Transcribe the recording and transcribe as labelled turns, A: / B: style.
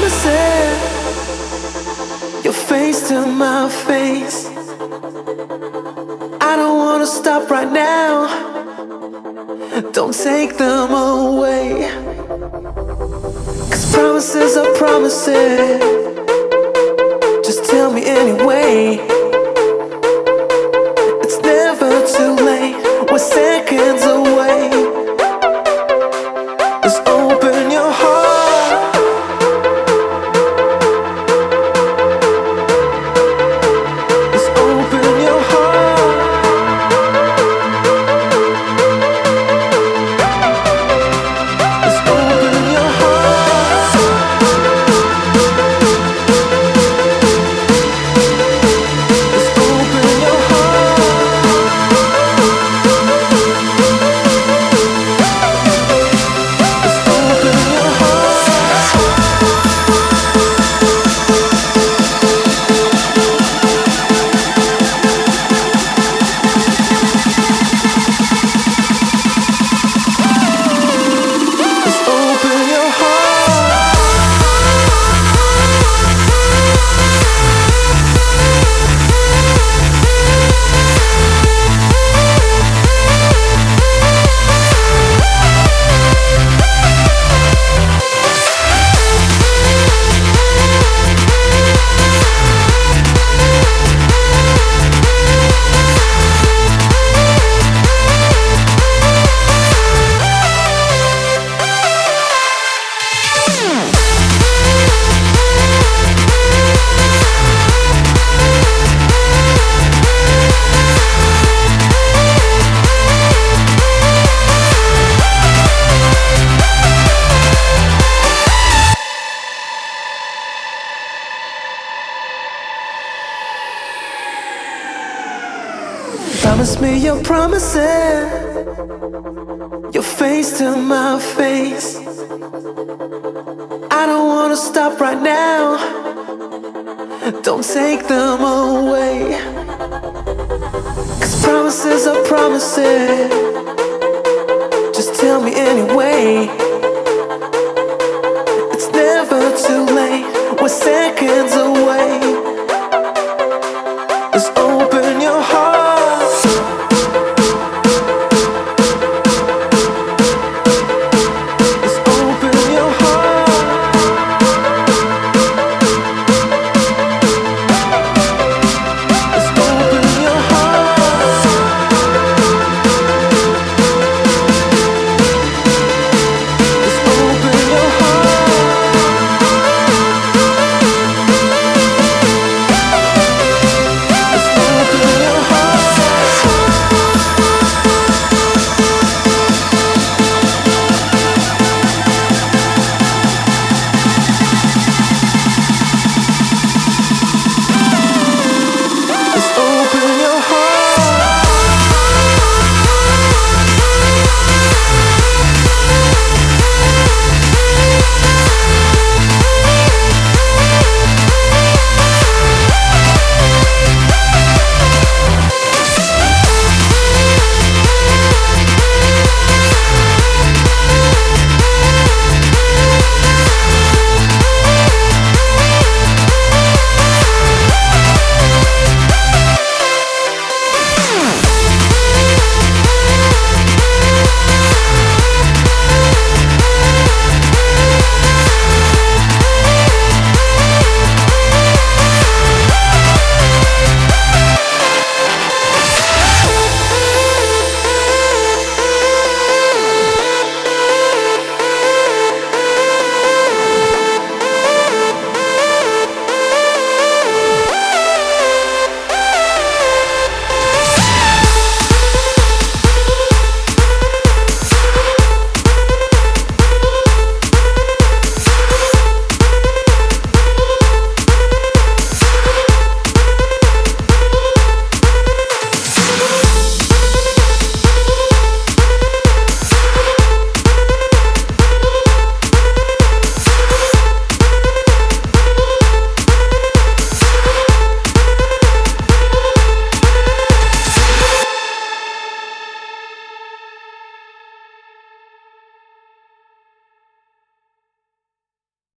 A: promises, your face to my face. I don't wanna stop right now. Don't take them away. 'Cause promises are promises. Just tell me anyway. It's never too late. We're seconds away. Just open your heart. Just open your heart. Just open your heart. Just open your promise me your promises, your face to my face. I don't wanna stop right now. Don't take them away. 'Cause promises are promises. Just tell me anyway. It's never too late. We're seconds away.